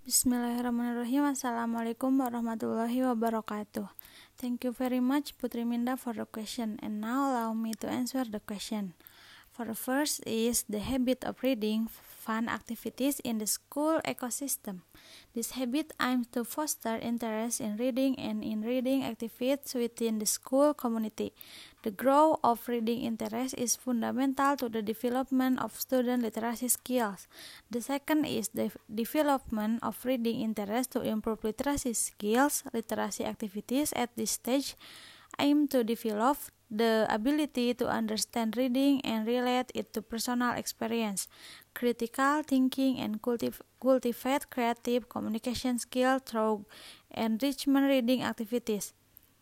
Bismillahirrahmanirrahim. Assalamualaikum warahmatullahi wabarakatuh. Thank you very much, Putri Minda, for the question. And now allow me to answer the question. For the first is the habit of reading fun activities in the school ecosystem. This habit aims to foster interest in reading and in reading activities within the school community. The growth of reading interest is fundamental to the development of student literacy skills. The second is the development of reading interest to improve literacy skills. Literacy activities at this stage aim to develop the ability to understand reading and relate it to personal experience, critical thinking, and cultivate creative communication skills through enrichment reading activities.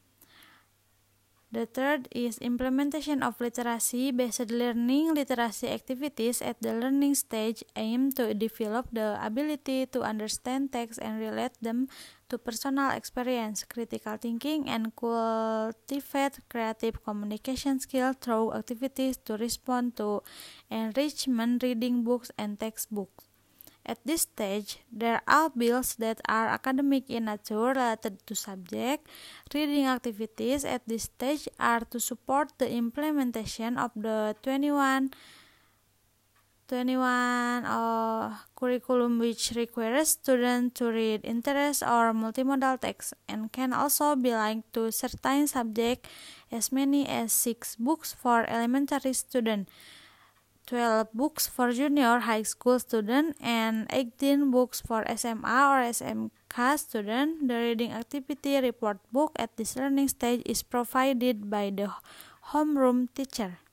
The third is implementation of literacy-based learning. Literacy activities at the learning stage aim to develop the ability to understand text and relate them to personal experience, critical thinking, and cultivate creative communication skills through activities to respond to enrichment reading books and textbooks. At this stage, there are bills that are academic in nature related to subject. Reading activities at this stage are to support the implementation of the 21 curriculum, which requires students to read interest or multimodal text and can also be linked to certain subjects, as many as 6 books for elementary students, 12 books for junior high school students, and 18 books for SMA or SMK students. The reading activity report book at this learning stage is provided by the homeroom teacher.